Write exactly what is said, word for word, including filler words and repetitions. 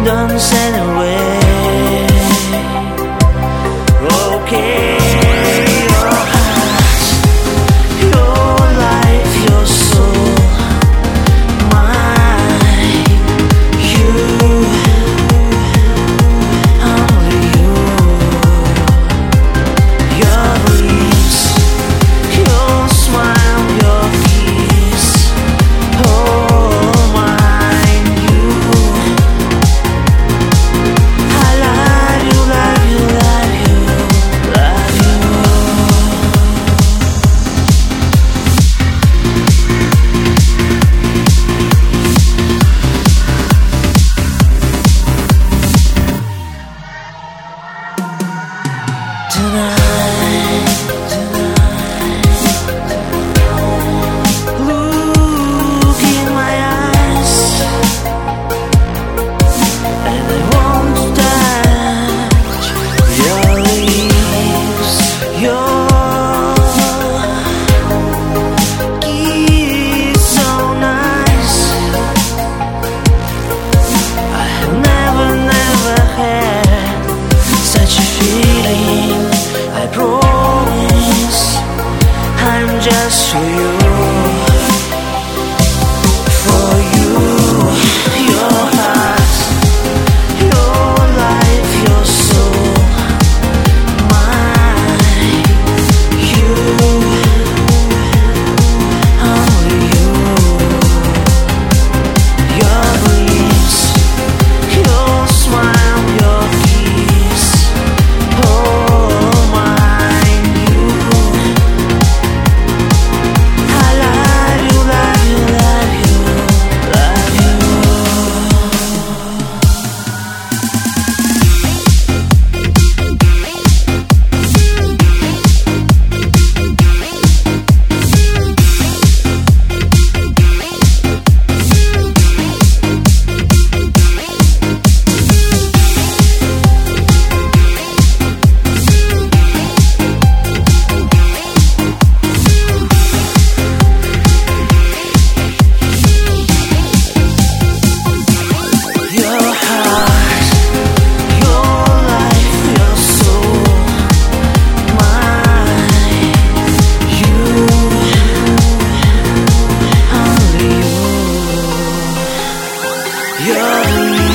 don't send away. Okay, your heart, your life, your soul, mine, you, only you. Your lips, your smile, your kiss, oh mine, you. I love you, love you, love you, love you. Tonight, tonight, look in my eyes, and I want to touch your lips, your kiss so nice. I have never, never had such a feeling. I promise I'm just for you, for you. Your heart, your life, your soul, mine, you, only you. Your lips, your smile, your kiss, oh mine, you. I love you, love you, love you, love you. Your heart, your life, your soul, mine, you, only you. Your